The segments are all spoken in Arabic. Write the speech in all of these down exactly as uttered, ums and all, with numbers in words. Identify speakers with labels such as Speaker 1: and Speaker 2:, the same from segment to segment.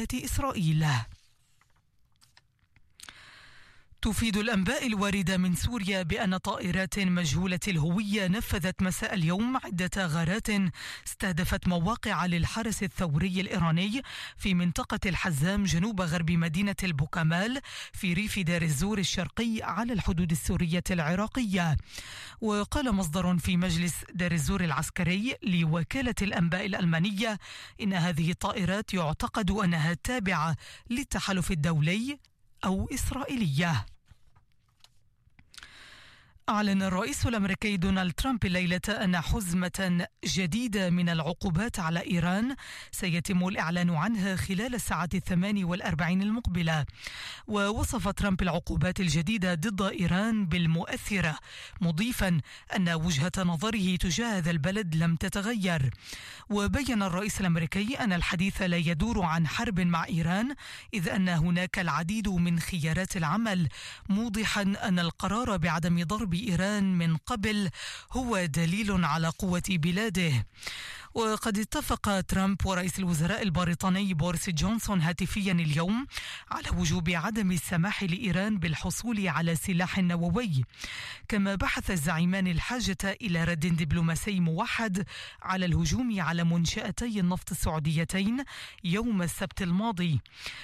Speaker 1: قوات إسرائيل. تفيد الأنباء الواردة من سوريا بأن طائرات مجهولة الهوية نفذت مساء اليوم عدة غارات استهدفت مواقع للحرس الثوري الإيراني في منطقة الحزام جنوب غرب مدينة البوكمال في ريف دير الزور الشرقي على الحدود السورية العراقية. وقال مصدر في مجلس دير الزور العسكري لوكالة الأنباء الألمانية إن هذه الطائرات يعتقد أنها تابعة للتحالف الدولي أو إسرائيلية. أعلن الرئيس الأمريكي دونالد ترامب الليلة أن حزمة جديدة من العقوبات على إيران سيتم الإعلان عنها خلال الساعة الثمان والأربعين المقبلة. ووصف ترامب العقوبات الجديدة ضد إيران بالمؤثرة، مضيفا أن وجهة نظره تجاه هذا البلد لم تتغير. وبين الرئيس الأمريكي أن الحديث لا يدور عن حرب مع إيران، إذ أن هناك العديد من خيارات العمل، موضحا أن القرار بعدم ضرب إيران من قبل هو دليل على قوة بلاده. وقد اتفق ترامب ورئيس الوزراء البريطاني بوريس جونسون هاتفيا اليوم على وجوب عدم السماح لإيران بالحصول على سلاح نووي. كما بحث الزعيمان الحاجة إلى رد دبلوماسي موحد على الهجوم على منشأتي النفط السعوديتين يوم السبت الماضي.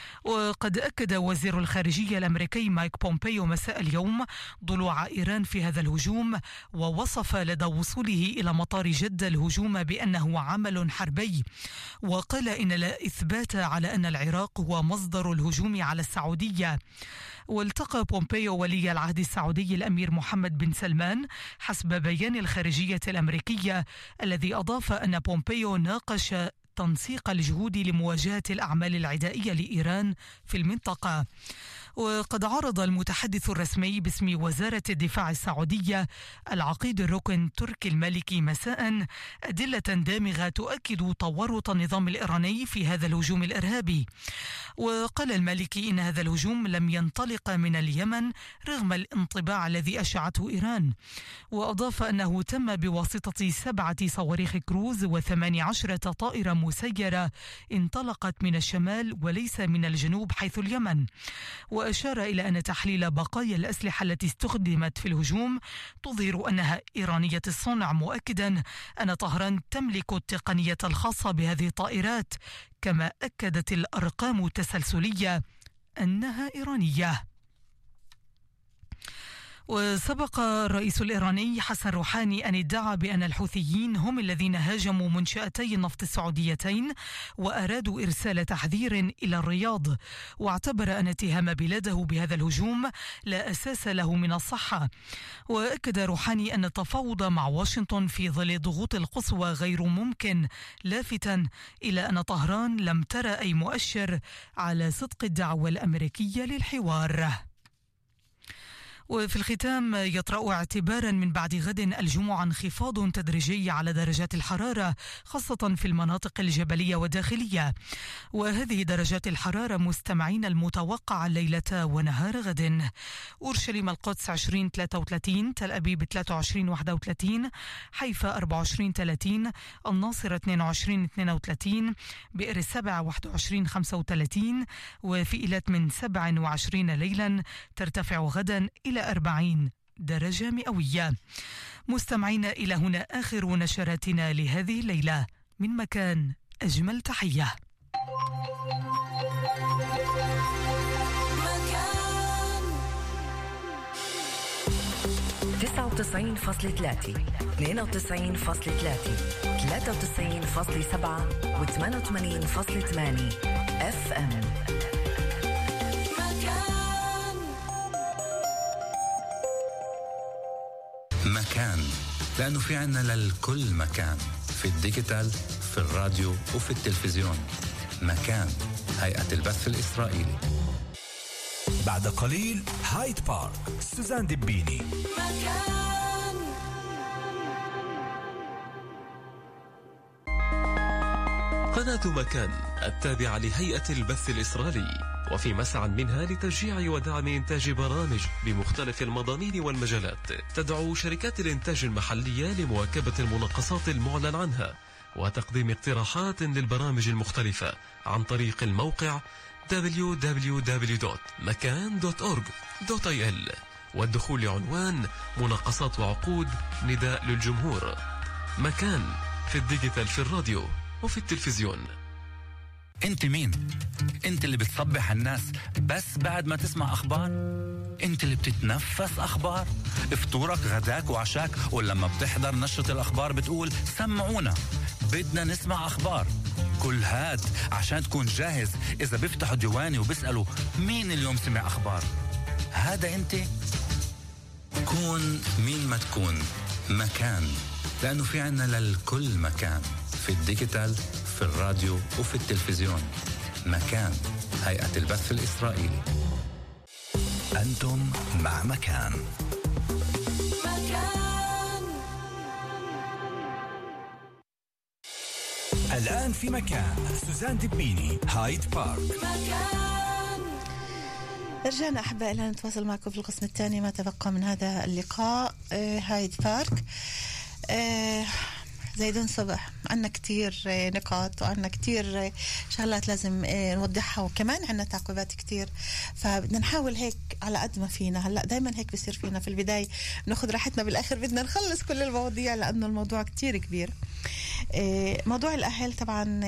Speaker 1: وقد أكد وزير الخارجية الأمريكي مايك بومبيو مساء اليوم ضلوع إيران في هذا الهجوم، ووصف لدى وصوله إلى مطار جدة الهجوم بأنه عمل حربي. وقال إن لا إثبات على أن العراق هو مصدر الهجوم على السعودية. والتقى بومبيو ولي العهد السعودي الأمير محمد بن سلمان حسب بيان الخارجية الأمريكية، الذي أضاف أن بومبيو ناقش تنسيق الجهود لمواجهة الأعمال العدائية لإيران في المنطقة. وقد عرض المتحدث الرسمي باسم وزارة الدفاع السعودية العقيد الركن تركي المالكي مساء أدلة دامغة تؤكد تورط النظام الإيراني في هذا الهجوم الإرهابي. وقال المالكي إن هذا الهجوم لم ينطلق من اليمن رغم الانطباع الذي أشعته إيران. وأضاف أنه تم بواسطة سبعة صواريخ كروز وثماني عشرة طائرة مسيرة انطلقت من الشمال وليس من الجنوب حيث اليمن. وأشار إلى أن تحليل بقايا الأسلحة التي استخدمت في الهجوم تظهر أنها إيرانية الصنع، مؤكدا أن طهران تملك التقنية الخاصة بهذه الطائرات. كما أكدت الأرقام التسلسلية أنها إيرانية. وسبق الرئيس الإيراني حسن روحاني أن ادعى بأن الحوثيين هم الذين هاجموا منشأتي النفط السعوديتين وأرادوا إرسال تحذير إلى الرياض. واعتبر أن اتهام بلاده بهذا الهجوم لا أساس له من الصحة. وأكد روحاني أن التفاوض مع واشنطن في ظل الضغوط القصوى غير ممكن، لافتا إلى أن طهران لم ترى أي مؤشر على صدق الدعوة الأمريكية للحوار. وفي الختام، يطرأ اعتبارا من بعد غد الجمعة انخفاض تدريجي على درجات الحرارة خاصة في المناطق الجبلية والداخلية. وهذه درجات الحرارة مستمعين المتوقعة ليلة ونهار غد: أورشليم القدس عشرين ثلاثة وثلاثين، تل أبيب ثلاثة وعشرين واحد وثلاثين، حيفا أربعة وعشرين ثلاثين، الناصر اثنين وعشرين اثنين وثلاثين، بئر السبع واحد وعشرين خمسة وثلاثين، وفي إيلات من سبعة وعشرين ليلا ترتفع غدا إلى أربعين درجة مئوية. مستمعين، إلى هنا آخر نشراتنا لهذه الليلة. من مكان أجمل تحية.
Speaker 2: تسعة وتسعين فاصلة ثلاثة، اثنين وتسعين فاصلة ثلاثة، ثلاثة وتسعين فاصلة سبعة وثمانية وثمانين فاصلة ثمانية اف ام.
Speaker 3: مكان، لأنه في عنا للكل مكان، في الديجيتال، في الراديو وفي التلفزيون. مكان، هيئة البث الإسرائيلي.
Speaker 4: بعد قليل هايد بارك، سوزان دبيني.
Speaker 5: مكان.
Speaker 6: قناة مكان التابعة لهيئة البث الإسرائيلي، وفي مسعى منها لتشجيع ودعم إنتاج برامج بمختلف المضامين والمجالات. تدعو شركات الإنتاج المحلية لمواكبة المناقصات المعلن عنها وتقديم اقتراحات للبرامج المختلفة عن طريق الموقع دبليو دبليو دبليو دوت مكان دوت أورج دوت آي إل والدخول لعنوان مناقصات وعقود نداء للجمهور. مكان في الديجيتال، في الراديو وفي التلفزيون.
Speaker 3: انت مين؟ انت اللي بتصبح الناس بس بعد ما تسمع اخبار؟ انت اللي بتتنفس اخبار؟ فطورك غداك وعشاك، ولما بتحضر نشرة الاخبار بتقول سمعونا بدنا نسمع اخبار. كل هاد عشان تكون جاهز اذا بيفتحوا ديواني وبيسألوا مين اليوم سمع اخبار. هذا انت. كون مين ما تكون، مكان، لانه في عنا للكل مكان، في الديجيتال، في الراديو وفي التلفزيون. مكان، هيئة البث الإسرائيلي.
Speaker 4: أنتم مع مكان.
Speaker 5: مكان.
Speaker 4: الآن في مكان سوزان دبيني، هايد بارك.
Speaker 5: مكان.
Speaker 7: رجعنا أحبائي لنا نتواصل معكم في القسم الثاني ما تبقى من هذا اللقاء. آه هايد بارك. آه زيدون صبح، عنا كتير نقاط وعنا كتير شغلات لازم نوضحها، وكمان عنا تعقيبات كتير، فبدنا نحاول هيك على قد ما فينا. هلأ دايما هيك بيصير فينا في البداية ناخد راحتنا، بالآخر بدنا نخلص كل المواضيع لأنه الموضوع كتير كبير. موضوع الأهل طبعا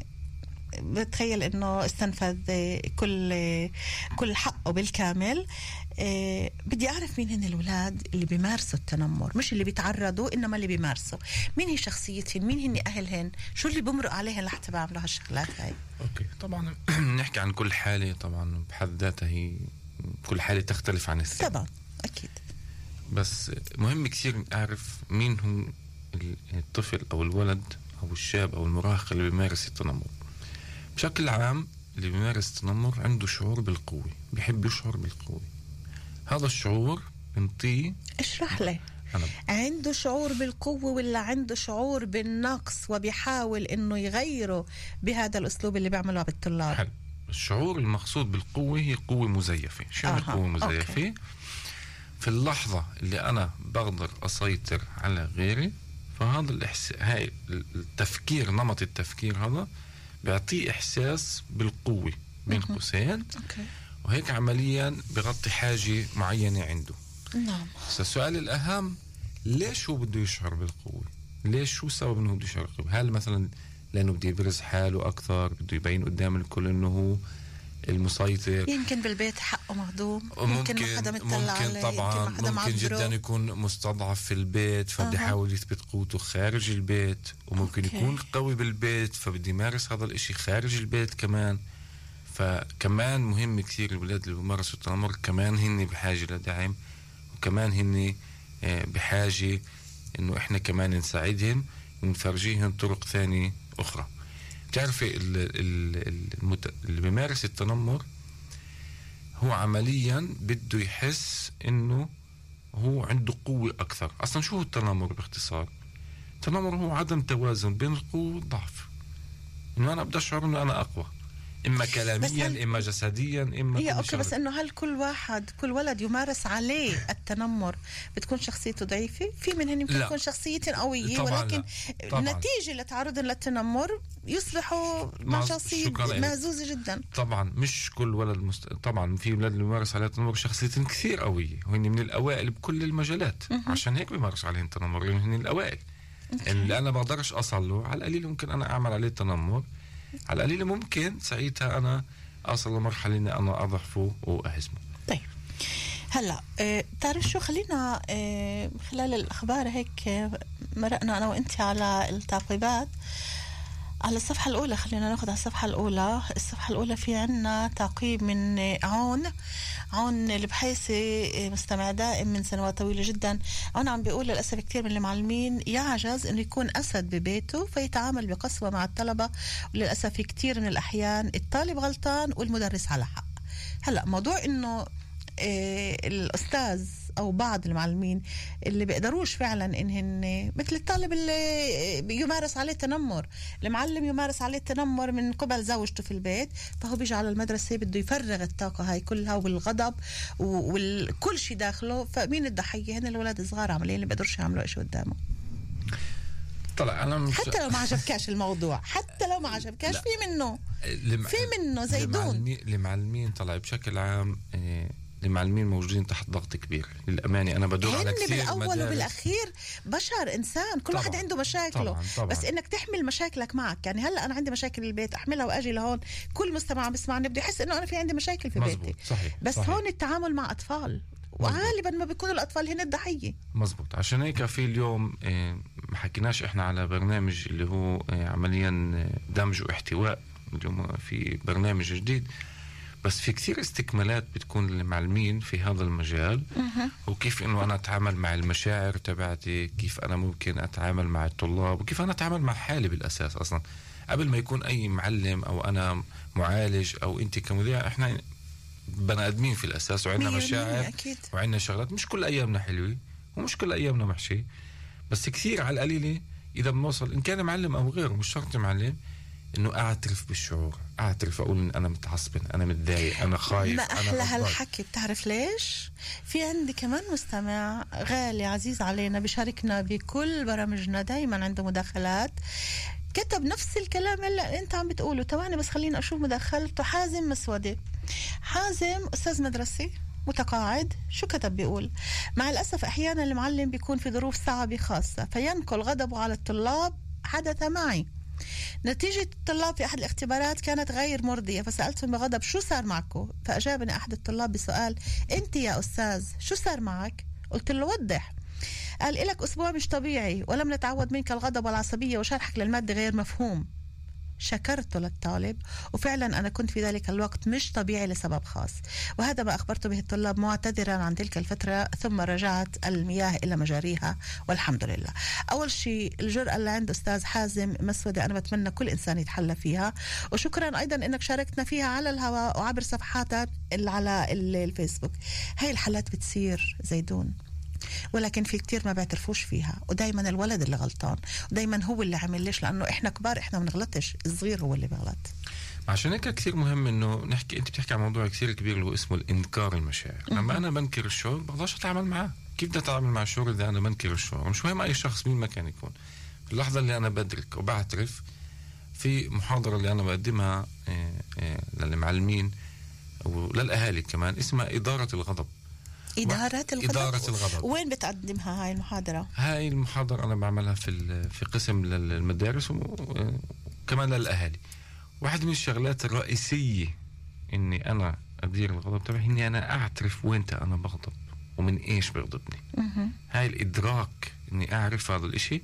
Speaker 7: بتخيل انه استنفذ كل كل حقه بالكامل. أه بدي اعرف مين هن الأولاد اللي بيمارسوا التنمر، مش اللي بيتعرضوا انما اللي بيمارسوا. مين هي شخصيتهم، مين هن اهلهن، شو اللي بمرق عليهن لحتى بعملوا هالشغلات هاي.
Speaker 8: اوكي طبعا نحكي عن كل حالة، طبعا بحد ذاتها هي كل حالة تختلف عن الثانية
Speaker 7: طبعا اكيد،
Speaker 8: بس مهم كثير اعرف مين هو الطفل او الولد او الشاب او المراهق اللي بيمارس التنمر. بشكل عام اللي بيمارس التنمر عنده شعور بالقوة، بيحب يشعر بالقوة. هذا الشعور بنطيه.
Speaker 7: اشرح لي. عنده شعور بالقوة ولا عنده شعور بالنقص وبيحاول انه يغيره بهذا الاسلوب اللي بيعمله بالطلاب؟
Speaker 8: حل. الشعور المقصود بالقوة هي قوة مزيفة. شو يعني قوة مزيفة؟ أوكي. في اللحظة اللي انا بقدر اسيطر على غيري، فهذا الإحس... هاي التفكير، نمط التفكير هذا بيعطيه إحساس بالقوة بين قوسين، وهيك عمليا بغطي حاجة معينة عنده.
Speaker 7: نعم.
Speaker 8: السؤال الأهم، ليش هو بده يشعر بالقوة؟ ليش، شو سبب إنه بده يشعر بالقوة؟ هل مثلا لأنه بده يبرز حاله أكثر، بده يبين قدام الكل إنه هو المسيطر؟
Speaker 7: يمكن بالبيت حقه مهضوم،
Speaker 8: ممكن ما حدا مطلع عليه، ممكن طبعا ممكن معبره. جدا يكون مستضعف في البيت فبده يحاول يثبت قوته خارج البيت، وممكن أوكي. يكون قوي بالبيت فبده يمارس هذا الاشي خارج البيت كمان. فكمان مهم كثير الولاد اللي بيمارسوا التنمر كمان هن بحاجة لدعم، وكمان هن بحاجة انه احنا كمان نساعدهم ونفرجيهم طرق ثانية اخرى. بتعرفي اللي بيمارس التنمر هو عمليا بده يحس انه هو عنده قوة اكثر. اصلا شو هو التنمر باختصار؟ التنمر هو عدم توازن بين القوة والضعف، انه انا بدي اشعر انه انا اقوى، اما كلاميا اما جسديا اما
Speaker 7: هي اوكي. بس انه هل كل واحد كل ولد يمارس عليه التنمر بتكون شخصيته ضعيفة؟ في منهم يمكن تكون شخصيتهم قوية، ولكن نتيجة لتعرضهم للتنمر يصبحوا مع شخصية مهزوزة جدا.
Speaker 8: طبعا مش كل ولد مست... طبعا في ولاد اللي بيمارس عليه التنمر شخصيتهم كثير قوية وهن من الاوائل بكل المجالات، عشان هيك بيمارس عليهم التنمر لانه هن الاوائل. اللي انا بقدرش اصل له على القليل ممكن انا اعمل عليه التنمر، على القليل ممكن ساعتها أنا أصل لمرحلة إني أنا أضعفه وأهزمه.
Speaker 7: طيب هلا اه تعرف شو، خلينا اه خلال الأخبار هيك اه مرقنا أنا وإنتي على التعقيبات على الصفحة الأولى. خلينا ناخد على الصفحة الأولى. الصفحة الأولى في عنا تعقيب من عون عون البحيثي، مستمع دائم من سنوات طويلة جدا. عون عم بيقول للأسف كتير من المعلمين يعجز إنه يكون أسد ببيته فيتعامل بقسوة مع الطلبة، وللأسف في كتير من الأحيان الطالب غلطان والمدرس على حق. هلأ موضوع إنه إيه الأستاذ أو بعض المعلمين اللي بيقدروش فعلا إنهن مثل الطالب اللي يمارس عليه تنمر، المعلم يمارس عليه تنمر من قبل زوجته في البيت، فهو بيجي على المدرسة بده يفرغ الطاقة هاي كلها والغضب وكل شيء داخله. فمين الضحية؟ هن الولاد الصغار عمليين اللي بيقدروش يعملوا إيش قدامه.
Speaker 8: طلع أنا مش...
Speaker 7: حتى لو ما عجبكاش الموضوع، حتى لو ما عجبكاش في منه لم... في منه زيدون.
Speaker 8: المعلمين طلع بشكل عام إيه... المعلمين موجودين تحت ضغط كبير للأمانة. أنا بدور على كثير
Speaker 7: بالأول مدارس. وبالأخير بشر إنسان كل طبعًا. واحد عنده مشاكله طبعًا. طبعًا. بس إنك تحمل مشاكلك معك. يعني هلأ أنا عندي مشاكل بالبيت أحملها وأجي لهون، كل مستمع بسمعني بده يحس إنه أنا في عندي مشاكل في
Speaker 8: مزبوط.
Speaker 7: بيتي.
Speaker 8: صحيح.
Speaker 7: بس
Speaker 8: صحيح.
Speaker 7: هون التعامل مع أطفال وغالبا ما بيكونوا الأطفال هن الضحية.
Speaker 8: مزبوط. عشان هيك في اليوم إيه ما حكيناش إحنا على برنامج اللي هو إيه عمليا دمج واحتواء. اليوم في برنامج جديد، بس في كثير استكمالات بتكون للمعلمين في هذا المجال. وكيف انه انا اتعامل مع المشاعر تبعتي، كيف انا ممكن اتعامل مع الطلاب، وكيف انا اتعامل مع حالي بالاساس. اصلا قبل ما يكون اي معلم او انا معالج او انت كمذيع، احنا بني ادمين في الاساس وعندنا مشاعر وعندنا شغلات. مش كل ايامنا حلوه ومش كل ايامنا محشي، بس كثير على القليله اذا بنوصل ان كان معلم او غيره، مش شرط معلم، انه اعترف بالشعور، اعترف اقول ان انا متعصب، انا متضايق، انا خايف.
Speaker 7: ما احلى هالحكي. بتعرف ليش؟ في عندي كمان مستمع غالي عزيز علينا بيشاركنا بكل برامجنا، دايما عنده مداخلات، كتب نفس الكلام اللي انت عم بتقوله. تواني بس خلينا اشوف مداخلته. حازم مسودي. حازم استاذ مدرسي متقاعد. شو كتب؟ بيقول: مع الاسف احيانا المعلم بيكون في ظروف صعبه خاصه فينقل غضبه على الطلاب. حدث معي. نتيجة الطلاب في أحد الاختبارات كانت غير مرضية، فسألتهم بغضب: شو صار معكم؟ فأجابني أحد الطلاب بسؤال: أنت يا أستاذ شو صار معك؟ قلت له: وضح. قال: إلك أسبوع مش طبيعي ولم نتعود منك الغضب والعصبية وشرحك للمادة غير مفهوم. شكرته للطالب، وفعلا أنا كنت في ذلك الوقت مش طبيعي لسبب خاص، وهذا ما أخبرت به الطلاب معتذرا عن تلك الفترة، ثم رجعت المياه إلى مجاريها والحمد لله. أول شيء الجرأة اللي عند أستاذ حازم مسودة أنا بتمنى كل إنسان يتحلى فيها، وشكرا أيضا أنك شاركتنا فيها على الهواء وعبر صفحاتك على الفيسبوك. هاي الحالات بتصير زيدون، ولكن في كتير ما بيعترفوش فيها، ودايما الولد اللي غلطان، ودايما هو اللي عمل. ليش؟ لأنه إحنا كبار إحنا ما بنغلطش، الصغير هو اللي بغلط.
Speaker 8: عشان هيك كثير مهم إنه نحكي. أنت بتحكي عن موضوع كثير كبير اللي هو اسمه الإنكار المشاعر. لما أنا بنكر الشعور بقدرش أتعامل معاه. كيف بدي أتعامل مع الشعور إذا أنا بنكر الشعور؟ مش مهم أي شخص مين ما كان يكون. في اللحظة اللي أنا بدرك وبعترف، في محاضرة اللي أنا بقدمها للمعلمين وللأهالي كمان اسمها إدارة الغضب.
Speaker 7: إدارة الغضب.
Speaker 8: إدارة الغضب.
Speaker 7: وين بتقدمها هاي المحاضرة؟
Speaker 8: هاي المحاضرة أنا بعملها في في قسم للمدارس وكمان للأهالي. واحد من الشغلات الرئيسية إني أنا أدير الغضب تبعي إني أنا أعترف وينت أنا بغضب ومن إيش بغضبني. هاي الإدراك إني أعرف هذا الإشي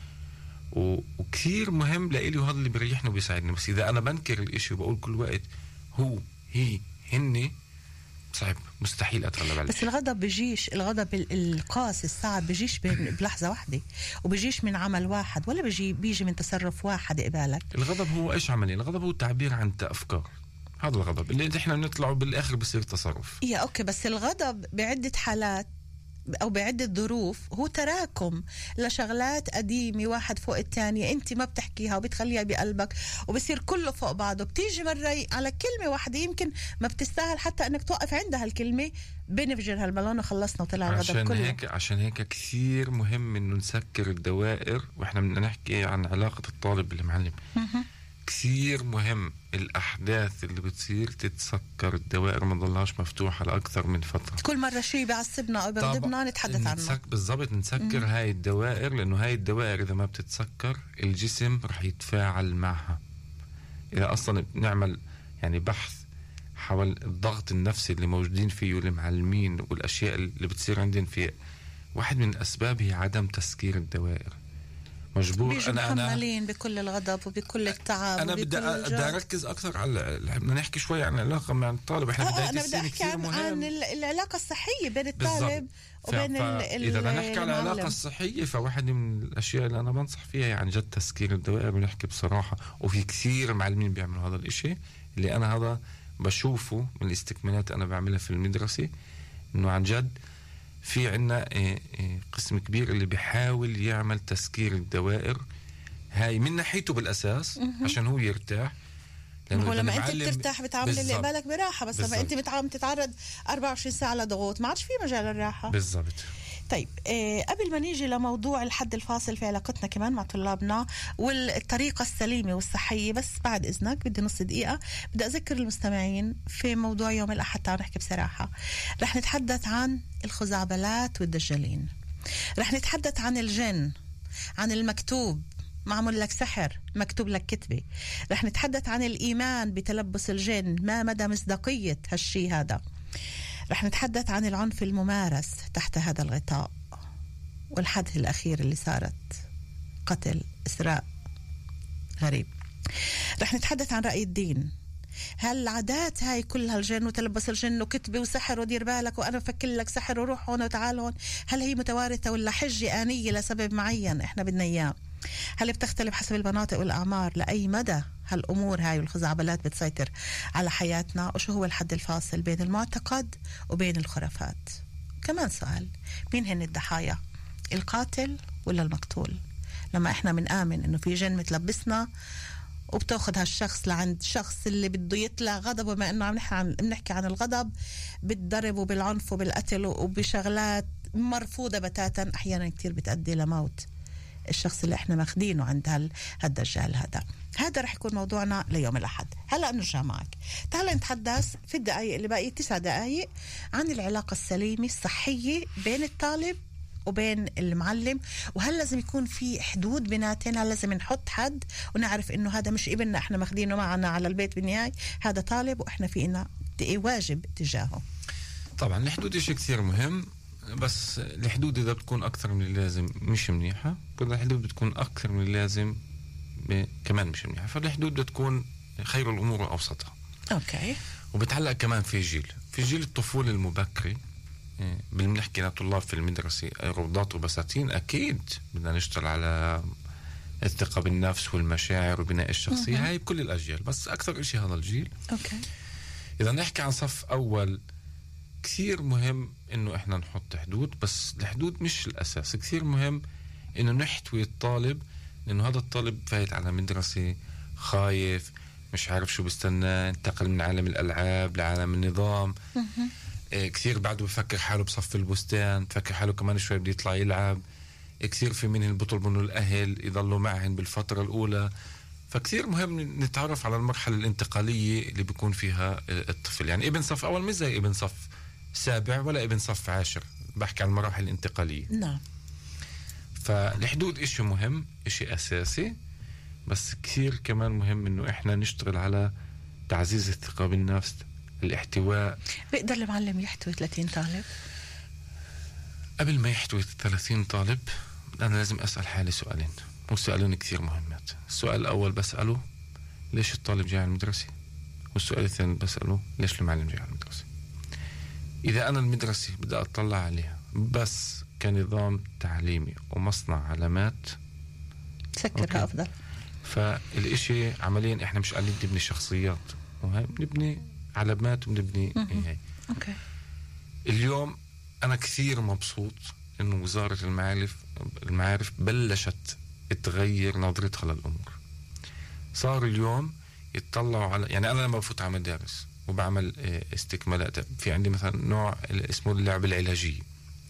Speaker 8: وكثير مهم لإلي، وهذا اللي بيريحني وبيساعدني. بس إذا أنا بنكر الإشي وبقول كل وقت هو هي هني، صعب، مستحيل أتغلب عليه.
Speaker 7: بس الغضب بيجيش، الغضب القاسي الصعب بيجيش بلحظة واحدة، وبيجيش من عمل واحد، ولا بيجي بيجي من تصرف واحد قبالك.
Speaker 8: الغضب هو إيش عملي؟ الغضب هو تعبير عن أفكار. هذا الغضب اللي إحنا بنطلعه بالآخر بصير تصرف.
Speaker 7: يا أوكي، بس الغضب بعدة حالات أو بعدة ظروف هو تراكم لشغلات قديمة واحد فوق الثانية، أنت ما بتحكيها وبتخليها بقلبك وبصير كله فوق بعضه. بتيجي مرة على كلمة واحدة يمكن ما بتستاهل حتى أنك توقف عندها الكلمة، بنفجر هالبالون وخلصنا وطلع الغضب
Speaker 8: عشان
Speaker 7: كله.
Speaker 8: هيك عشان هيك كثير مهم إنه نسكر الدوائر. وإحنا بدنا نحكي عن علاقة الطالب بالمعلم. كثير مهم الأحداث اللي بتصير تتسكر الدوائر، ما تضلهاش مفتوحة لأكثر من فترة.
Speaker 7: كل مرة شيء بيعصبنا أو بيغضبنا نتحدث عنه.
Speaker 8: بالضبط، نسكر م- هاي الدوائر، لأنه هاي الدوائر إذا ما بتتسكر الجسم رح يتفاعل معها. إذا أصلا نعمل يعني بحث حول الضغط النفسي اللي موجودين فيه المعلمين والأشياء اللي بتصير عندهم، في واحد من الأسباب هي عدم تسكير الدوائر. مجبور
Speaker 7: بيجوا أنا محملين أنا بكل الغضب وبكل التعب.
Speaker 8: أنا بدي أركز أكثر على، بدنا نحكي شوي عن العلاقة مع الطالب. إحنا
Speaker 7: آه أنا بدي أحكي عن, عن العلاقة الصحية بين الطالب
Speaker 8: ف... وبين ال إذا بدنا نحكي عن العلاقة الصحية، فواحد من الأشياء اللي أنا بنصح فيها عن جد تسكير الدوائر، ونحكي بصراحة. وفي كثير معلمين بيعملوا هذا الإشي اللي أنا هذا بشوفه من الاستكمالات أنا بعملها في المدرسة، إنه عن جد في عنا قسم كبير اللي بيحاول يعمل تسكير الدوائر هاي من ناحيته بالأساس عشان هو يرتاح.
Speaker 7: هو لما أنت بترتاح بتعامل اللي قبالك براحة، بس بالزبط. لما أنت بتعامل تتعرض أربعة وعشرين ساعة لضغوط ما عادش في مجال الراحة.
Speaker 8: بالضبط.
Speaker 7: طيب إيه قبل ما نيجي لموضوع الحد الفاصل في علاقتنا كمان مع طلابنا والطريقة السليمة والصحية، بس بعد إذنك بدي نص دقيقة بدي أذكر المستمعين في موضوع يوم الأحد. تعالوا نحكي بصراحة. رح نتحدث عن الخزعبلات والدجالين، رح نتحدث عن الجن، عن المكتوب معمول لك سحر مكتوب لك كتبة، رح نتحدث عن الإيمان بتلبس الجن، ما مدى مصداقية هالشي هذا، رح نتحدث عن العنف الممارس تحت هذا الغطاء، والحدث الأخير اللي صارت قتل إسراء غريب. رح نتحدث عن رأي الدين، هل العادات هاي كلها الجن وتلبس الجن وكتبة وسحر ودير بالك وأنا فكر لك سحر وروح هون وتعال هون، هل هي متوارثة ولا حجة آنية لسبب معين إحنا بدنا إياه؟ هل بتختلف حسب المناطق والأعمار؟ لأي مدى هالأمور هاي والخزعبلات بتسيطر على حياتنا؟ وشو هو الحد الفاصل بين المعتقد وبين الخرافات؟ كمان سؤال، مين هن الضحايا، القاتل ولا المقتول؟ لما إحنا منآمن إنه في جن متلبسنا وبتاخد هالشخص لعند شخص اللي بده يطلع غضبه، بما إنه عم نحكي عن بنحكي عن الغضب، بالضرب وبالعنف وبالقتل وبشغلات مرفوضة بتاتا، أحيانا كتير بتأدي لموت الشخص اللي احنا ماخدينه عند هالدجال هذا. هذا رح يكون موضوعنا ليوم الأحد. هلأ نرجع معك، تعال نتحدث في الدقائق اللي باقي تسع دقائق عن العلاقة السليمة الصحية بين الطالب وبين المعلم، وهل لازم يكون في حدود بيناتنا؟ هل لازم نحط حد ونعرف انه هذا مش ابننا احنا ماخدينه معنا على البيت بالنهاية، هذا طالب واحنا في إنا واجب تجاهه.
Speaker 8: طبعا الحدود شيء كثير مهم، بس الحدود إذا بتكون أكثر من اللازم مش منيحة، والحدود بتكون أكثر من اللازم كمان مش منيحة، فالحدود بتكون خير الأمور وأوسطها.
Speaker 7: أوكي.
Speaker 8: وبتعلق كمان في جيل في جيل الطفولة المبكرة. بنحكي لطلاب في المدرسة روضات وبساتين، أكيد بدنا نشتغل على الثقة بالنفس والمشاعر وبناء الشخصية، هاي بكل الأجيال، بس أكثر إشي هذا الجيل.
Speaker 7: أوكي.
Speaker 8: إذا نحكي عن صف أول، كثير مهم إنه إحنا نحط حدود، بس الحدود مش الأساس. كثير مهم إنه نحتوي الطالب، لأنه هذا الطالب فايت على مدرسة خايف، مش عارف شو بستنى، انتقل من عالم الألعاب لعالم النظام. إيه كثير بعده بفكر حاله بصف البستان، بفكر حاله كمان شوي بده يطلع يلعب. إيه كثير في منهم بيطلبوا إنه الأهل يضلوا معهم بالفترة الأولى. فكثير مهم نتعرف على المرحلة الانتقالية اللي بيكون فيها الطفل. يعني ابن صف أول مش زي ابن صف سابع ولا ابن صف عاشر، بحكي عن المراحل الانتقالية.
Speaker 7: نعم.
Speaker 8: فالحدود إشي مهم، إشي أساسي، بس كثير كمان مهم إنه إحنا نشتغل على تعزيز الثقة بالنفس، الاحتواء.
Speaker 7: بيقدر المعلم يحتوي ثلاثين طالب؟
Speaker 8: قبل ما يحتوي ثلاثين طالب أنا لازم أسأل حالي سؤالين، وسؤالين كثير مهمات. السؤال الأول بسأله ليش الطالب جاي على المدرسة، والسؤال الثاني بسأله ليش المعلم جاي على المدرسة. إذا أنا المدرسة بدي أطلع عليها بس كنظام تعليمي ومصنع علامات،
Speaker 7: سكرها أفضل.
Speaker 8: فالإشي عمليا إحنا مش قاعدين نبني شخصيات، بنبني علامات وبنبني هي.
Speaker 7: أوكي.
Speaker 8: اليوم أنا كثير مبسوط إنه وزارة المعارف المعارف بلشت تغير نظرتها للأمور. صار اليوم يتطلعوا على، يعني أنا لما بفوت على مدارس وبعمل استكمالات، في عندي مثلا نوع اسمه اللعب العلاجية،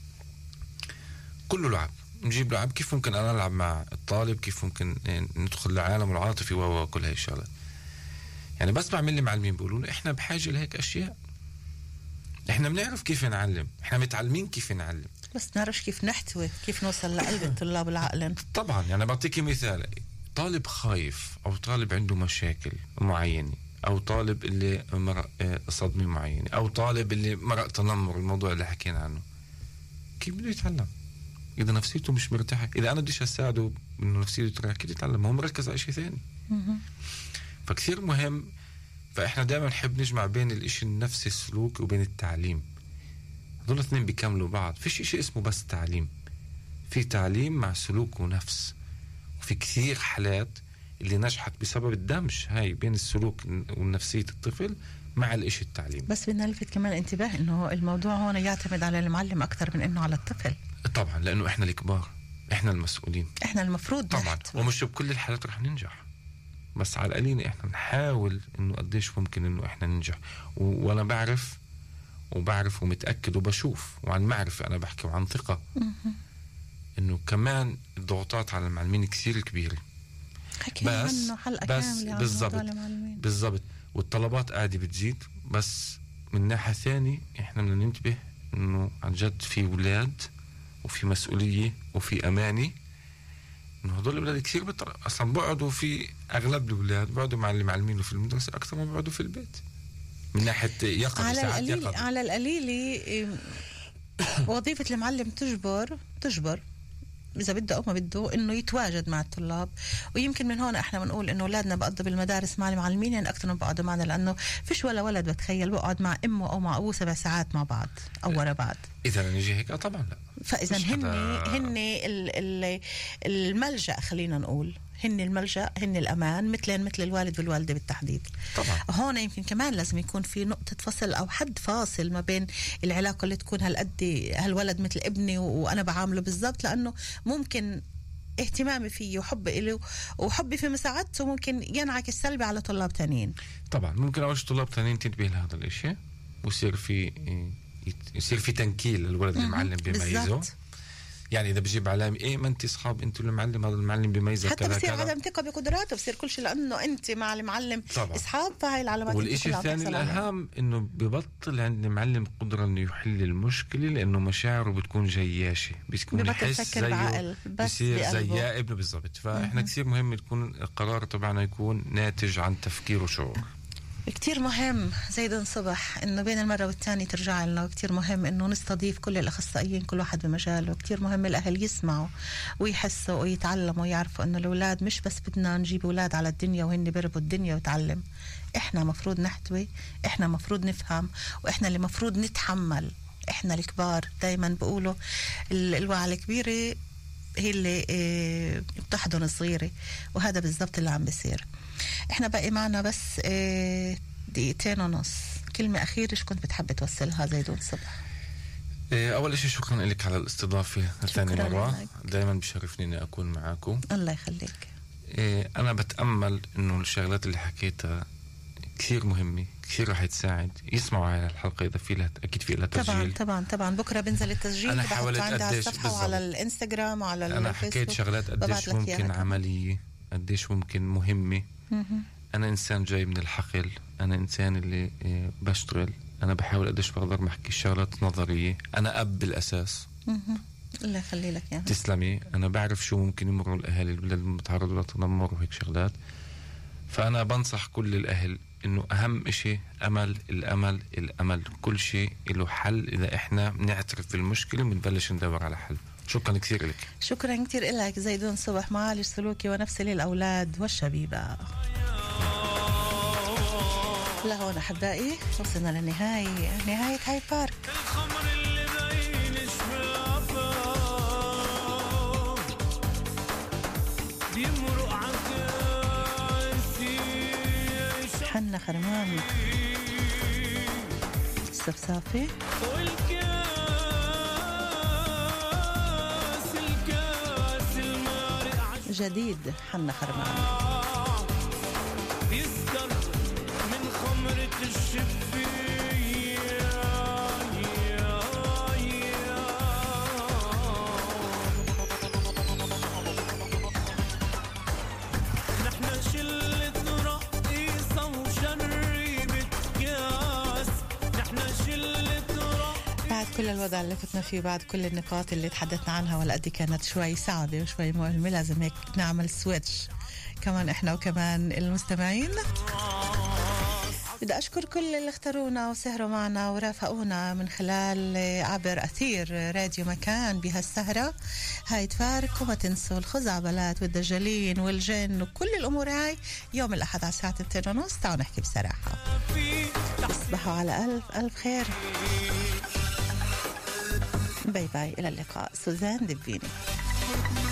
Speaker 8: كله لعب، نجيب لعب كيف ممكن أنا ألعب مع الطالب، كيف ممكن ندخل لعالم العاطفي وكل هاي الشغلات. يعني بس بعمل لي معلمين بيقولوا إحنا بحاجة لهيك أشياء، إحنا بنعرف كيف نعلم، إحنا متعلمين كيف نعلم،
Speaker 7: بس نعرفش كيف نحتوي، كيف نوصل لقلب الطلاب العقلين.
Speaker 8: طبعا يعني بعطيكي مثال، طالب خايف أو طالب عنده مشاكل معينة، أو طالب اللي مرق صدمة معينة، أو طالب اللي مرق تنمر، الموضوع اللي حكينا عنه، كيف بده يتعلم؟ إذا نفسيته مش مرتاحة، إذا أنا بديش أساعده إنه نفسيته ترتاح، كيف يتعلم؟ هو مركز على شيء ثاني. فكثير مهم. فإحنا دائما نحب نجمع بين الإشي النفسي السلوك وبين التعليم، هذول اثنين بيكملوا بعض. فيش إشي اسمه بس تعليم، في تعليم مع سلوك ونفس. وفي كثير حالات اللي نجحت بسبب الدمج هاي بين السلوك ونفسية الطفل مع الإشي التعليم.
Speaker 7: بس بدنا نلفت كمان انتباه إنه الموضوع هون يعتمد على المعلم أكثر من إنه على الطفل.
Speaker 8: طبعا لأنه إحنا الكبار، إحنا المسؤولين،
Speaker 7: إحنا المفروض
Speaker 8: طبعا
Speaker 7: نحت.
Speaker 8: ومش بكل الحالات رح ننجح، بس على القليل إحنا نحاول إنه قديش ممكن إنه إحنا ننجح. و... وأنا بعرف وبعرف ومتأكد وبشوف وعن معرفة، أنا بحكي وعن ثقة إنه كمان الضغوطات على المعلمين كثير كبيرة.
Speaker 7: بس
Speaker 8: بس بالضبط بالضبط والطلبات قاعدة بتزيد، بس من ناحية ثانية إحنا بدنا ننتبه إنه عن جد في أولاد وفي مسؤولية وفي أمانة، إنه هدول الأولاد كثير بطر... أصلا بقعدوا في أغلب الأولاد بقعدوا مع المعلمين في المدرسة أكثر ما بقعدوا في البيت من ناحية يقظة.
Speaker 7: على القليل على القليل وظيفة المعلم تجبر تجبر إذا بده أو ما بده إنه يتواجد مع الطلاب، ويمكن من هون إحنا بنقول إنه أولادنا بقضوا بالمدارس مع المعلمين يعني أكثر من بقعدوا معنا، لأنه فيش ولا ولد بتخيل بقعد مع أمه أو مع أبوه سبع ساعات مع بعض أو ورا بعض.
Speaker 8: إذا نيجي هيك طبعا لا.
Speaker 7: فإذا هن هن الملجأ، خلينا نقول هن الملجأ، هن الأمان، مثلين مثل الوالد والوالدة بالتحديد.
Speaker 8: طبعا
Speaker 7: هون يمكن كمان لازم يكون في نقطة فصل أو حد فاصل ما بين العلاقة اللي تكون هالقد هالولد مثل ابني وأنا بعامله بالضبط، لأنه ممكن اهتمامي فيه وحبي له وحبي في مساعدته ممكن ينعكس سلبي على طلاب تانيين.
Speaker 8: طبعا ممكن أول طلاب تانيين تنتبه لهذا الإشي ويصير في يصير في تنكيل للولد المعلم بيميزه. يعني إذا بجيب علامة إيه ما أنت أصحاب أنتوا المعلم، هذا المعلم بيميزك
Speaker 7: حتى بصير عدم ثقة بقدراته، بصير كل شيء لأنه أنت مع المعلم طبعا أصحاب، فهاي العلامات.
Speaker 8: والإشي الثاني الأهم إنه ببطل عند المعلم قدرة إنه يحل المشكلة، لأنه مشاعره بتكون جياشة، بتكون يحس زيه بصير زي ابنه بالضبط. فإحنا كثير مهم يكون القرار طبعا يكون ناتج عن تفكير وشعور.
Speaker 7: كتير مهم زيدون صبح انه بين المرة والتانية ترجع لنا، وكتير مهم انه نستضيف كل الاخصائيين كل واحد بمجاله، وكتير مهم الاهل يسمعوا ويحسوا ويتعلموا ويعرفوا انه الاولاد مش بس بدنا نجيب اولاد على الدنيا وهن بيربوا الدنيا ويتعلم، احنا مفروض نحتوي، احنا مفروض نفهم، واحنا اللي مفروض نتحمل. احنا الكبار دايما بقولوا الوعي الكبيرة هي اللي اه بتحضن الصغيرة، وهذا بالضبط اللي عم بيصير. احنا باقي معنا بس اه دقيقتين ونص، كلمة أخيرة ايش كنت بتحب توصلها زيدون صبح؟
Speaker 8: اه أول شيء شكرا لك على الاستضافة ثاني مرة، دايما بشرفني إني أكون معاكم.
Speaker 7: الله يخليك.
Speaker 8: اه أنا بتأمل إنه الشغلات اللي حكيتها كثير مهمة، كثير رح تساعد. يسمعوا على الحلقة إذا في لها أكيد في لها تسجيل.
Speaker 7: طبعا طبعا طبعا بكرة بنزل التسجيل.
Speaker 8: أنا حاولت قديش
Speaker 7: بالضبط وعلى الإنستغرام وعلى الفيسبوك.
Speaker 8: أنا حكيت شغلات قديش ممكن عملية، قديش ممكن مهمة. أنا إنسان جاي من الحقل، أنا إنسان اللي بشتغل، أنا بحاول قديش بقدر ما أحكي شغلات نظرية. أنا أب بالأساس.
Speaker 7: الله يخلي لك يعني.
Speaker 8: تسلمي. أنا بعرف شو ممكن يمروا الأهالي البلاد المتعرضة للتنمر وهيك شغلات. فأنا بنصح كل الأهل إنه أهم إشي أمل، الأمل الأمل. كل شيء له حل إذا إحنا نعترف بالمشكلة ونبلش ندور على حل. شكرا كثير لك.
Speaker 7: شكرا كثير لك زيدون صبح، معالج سلوكي ونفسي للأولاد والشبيبة. لهون أحبائي وصلنا للنهاية، نهاية هايد بارك. حنا خرمان السفسافي جديد. حنا خرمان يصدر من خمرة الشفية. نحن شلة رقيصة وشربة كاس، نحن شلة رقيصة. بعد كل الوضع اللي فتنا فيه، بعد كل النقاط اللي تحدثنا عنها والقد كانت شوي صعبة وشوي مؤلمة، لازم هيك نعمل سويتش كمان احنا وكمان المستمعين. بدي أشكر كل اللي اختارونا وسهروا معنا ورافقونا من خلال عبر أثير راديو مكان بهالسهرة. هاي تفارق، وما تنسوا الخزعبلات والدجالين والجن وكل الأمور هاي يوم الأحد على الساعة اثنين ونص. تعالوا نحكي بصراحة. تصبحوا على ألف ألف خير. باي باي، إلى اللقاء. سوزان دبيني.